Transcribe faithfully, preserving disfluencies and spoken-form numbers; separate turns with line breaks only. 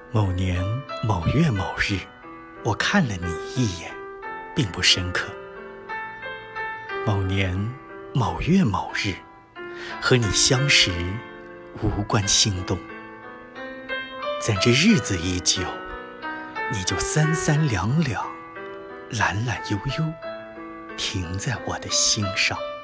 某年某月某日，我看了你一眼，并不深刻。某年某月某日，和你相识，无关心动。但这日子一久，你就三三两两，懒懒悠悠，停在我的心上。